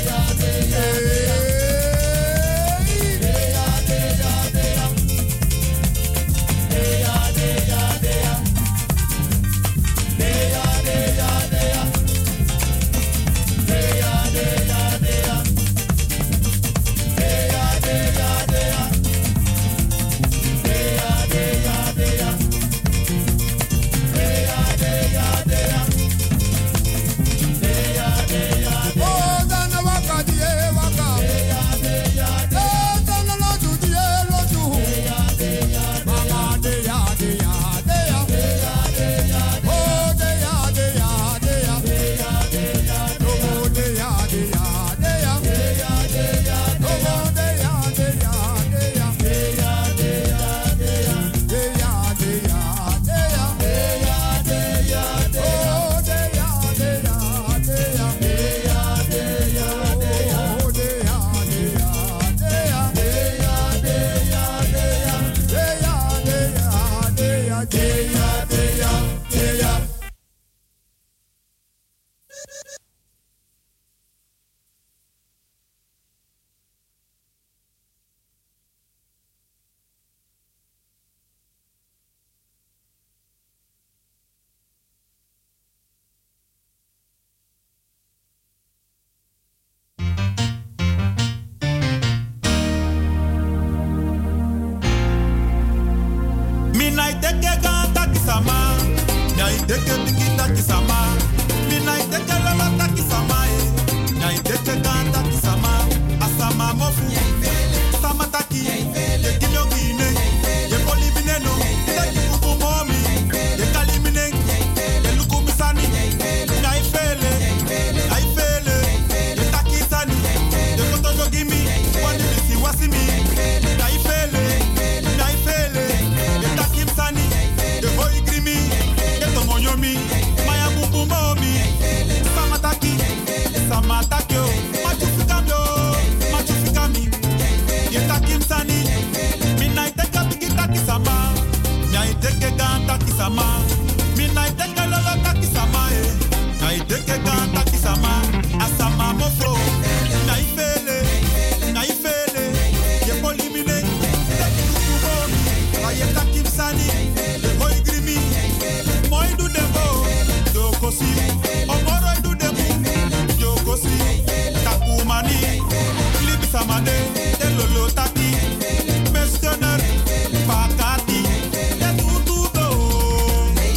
Pakati,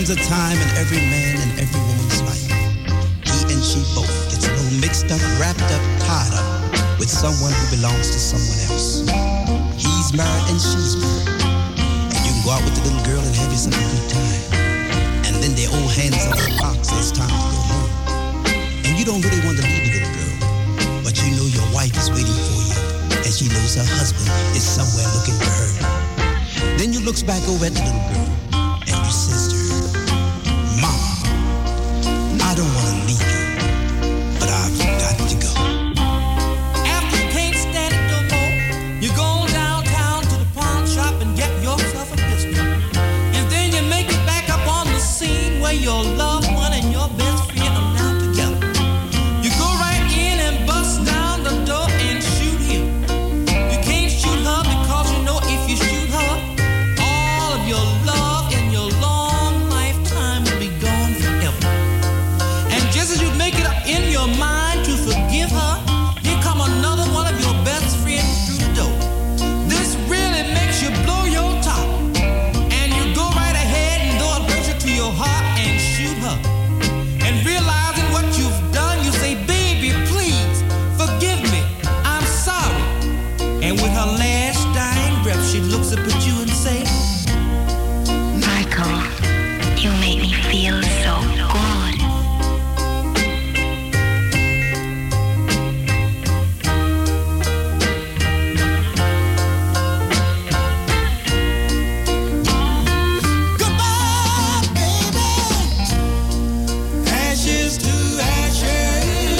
comes a time in every man and every woman's life. He and she both gets a little mixed up, wrapped up, tied up with someone who belongs to someone else. He's married and she's married. And you can go out with the little girl and have yourself a good time. And then they hold hands up the box and it's time to go home. And you don't really want to leave the little girl, but you know your wife is waiting for you, and she knows her husband is somewhere looking for her. Then you looks back over at the little girl and you says to her, Mama, I don't want to leave you, but I've got to go. After you can't stand it no more, you go downtown to the pawn shop and get yourself a pistol. And then you make it back up on the scene where your loved one and your best friend are now together. You go right in and bust down the door and shoot him. You can't shoot her because you know if you shoot her, all of your love and your long lifetime will be gone forever. And just as you make it up in your mind to forgive her, here come another one of your best friends through the door. This really makes you blow your top. And you go right ahead and throw a person to your heart and shoot her. And realizing what you've done, you say, baby, please forgive me. I'm sorry. And with her last dying breath, she looks up at you and says, Michael, you make me feel so good. Ashes to ashes,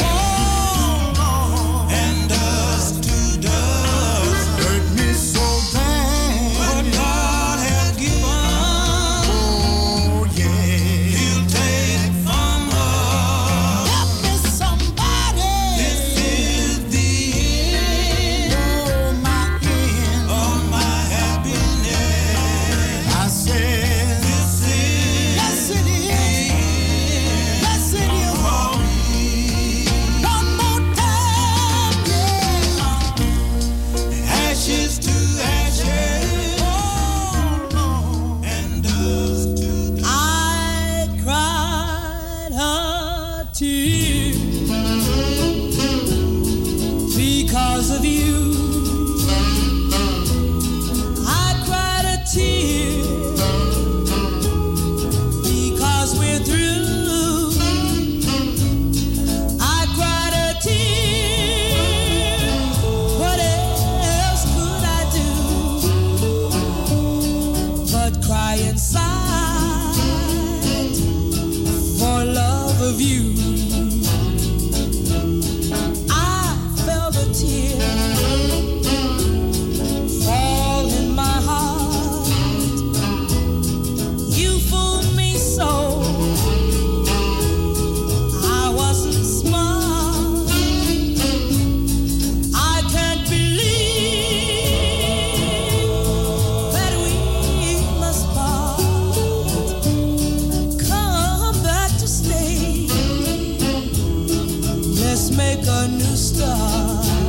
and dust to dust. Hurt me so bad. What God has given, oh yeah, He'll take from us. Help me, somebody. This is the end, oh my end of my happiness. I said, this is, yes it is. Yes, it is for me. One more time, yeah. Ashes to ashes, and dust to dust. I cried a tear because of you. I cried a tear because we're through. I cried a tear. What else could I do but cry inside for love of you? I felt a tear fall in my heart. You fooled me so. I wasn't smart. I can't believe that we must part. Come back to stay. Let's make a new start.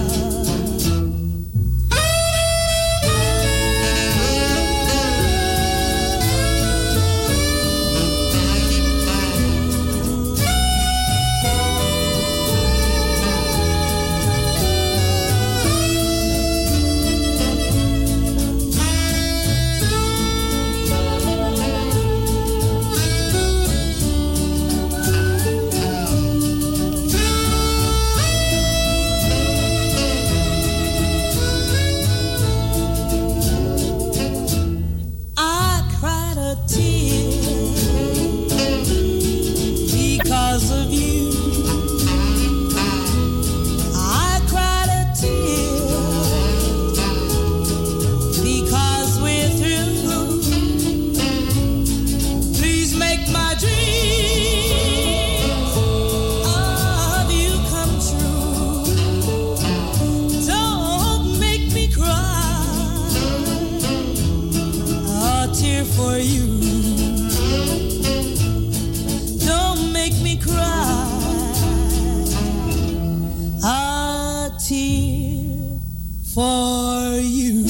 I cried a tear because of you. I cried a tear because we're through. Please make my dreams of you come true. Don't make me cry a tear for you. Don't make me cry a tear for you.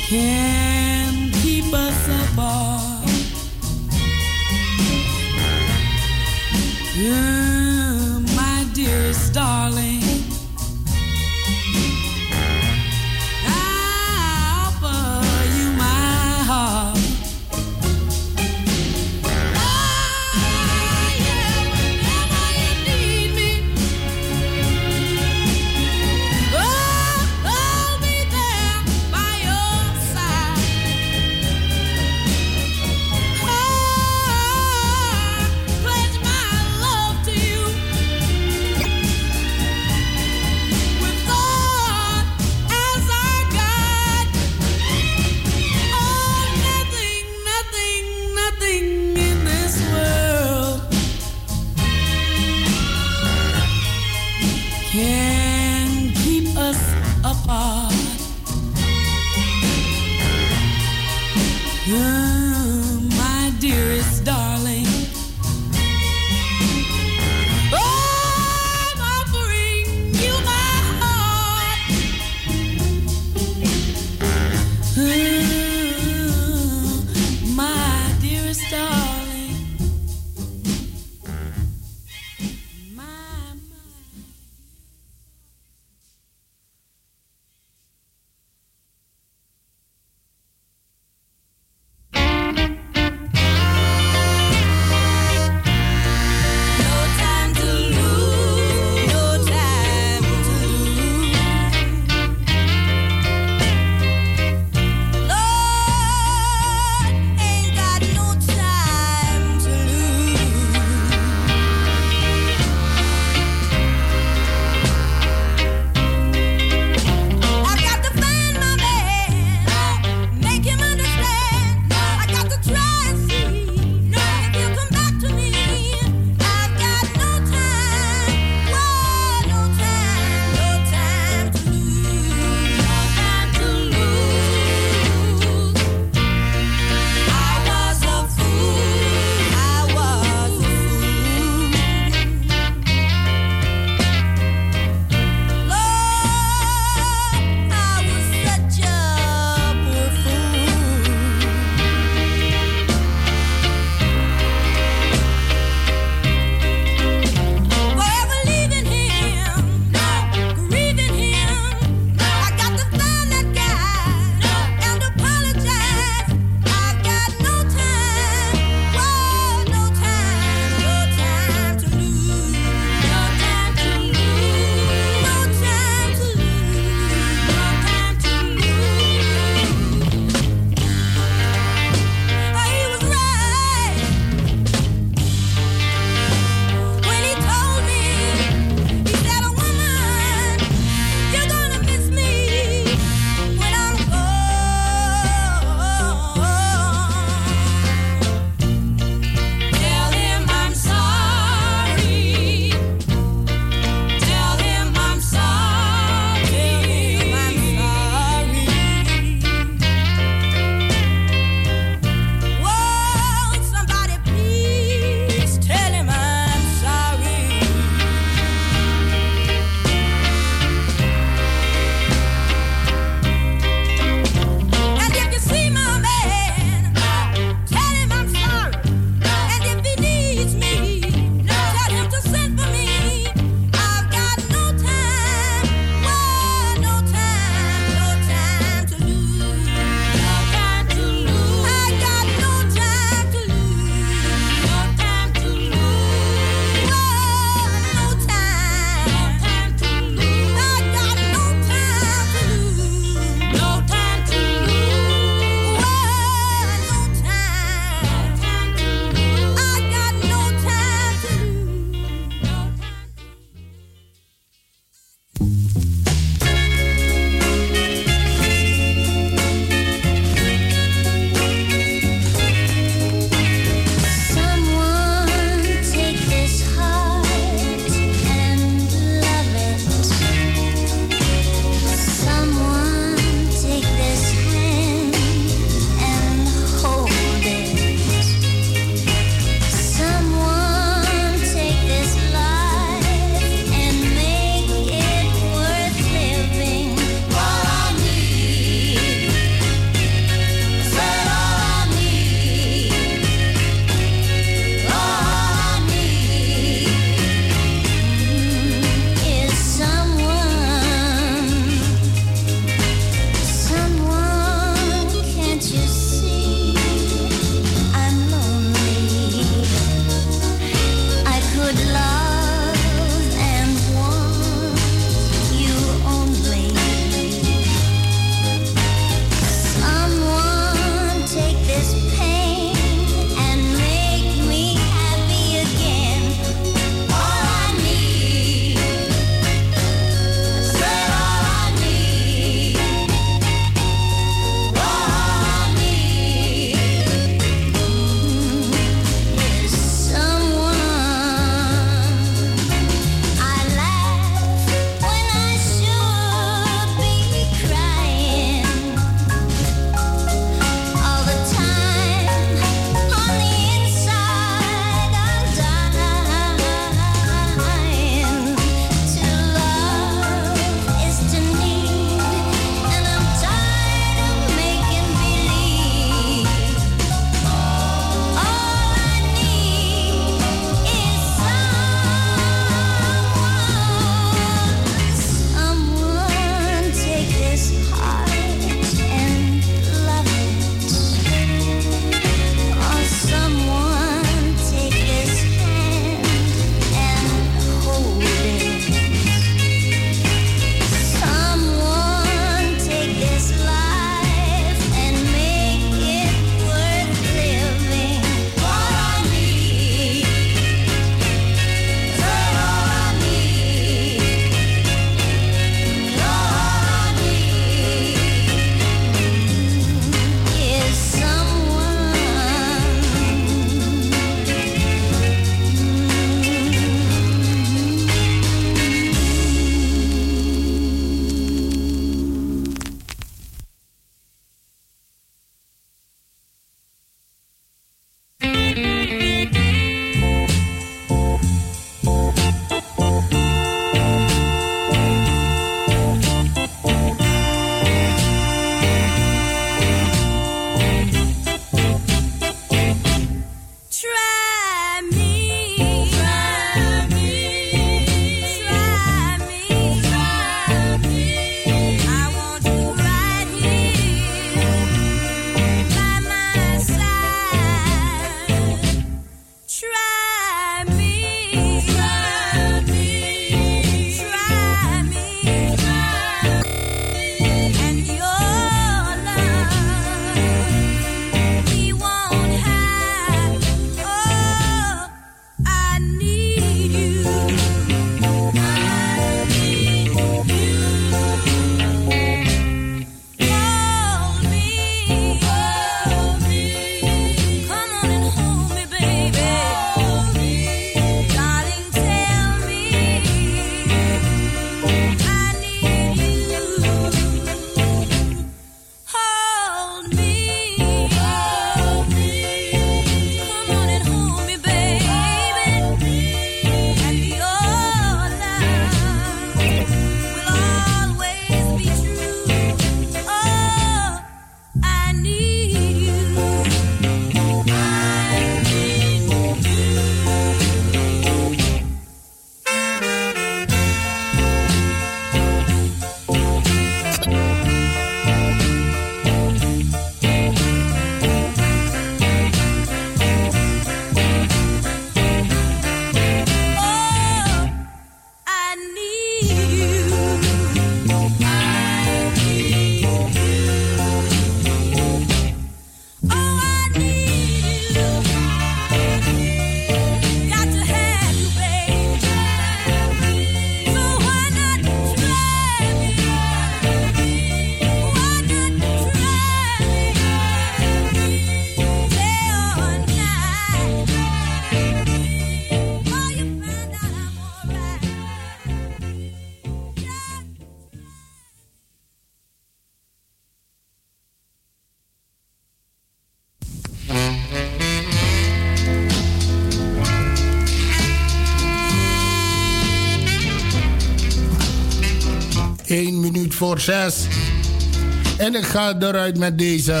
1 minuut voor 6. En ik ga eruit met deze.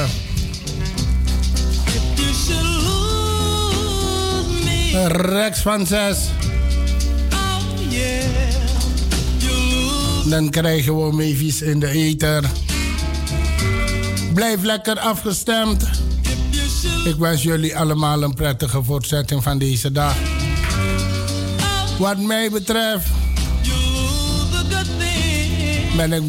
Rex van 6. Dan krijgen we Mavis in de ether. Blijf lekker afgestemd. Ik wens jullie allemaal een prettige voortzetting van deze dag. Wat mij betreft ben ik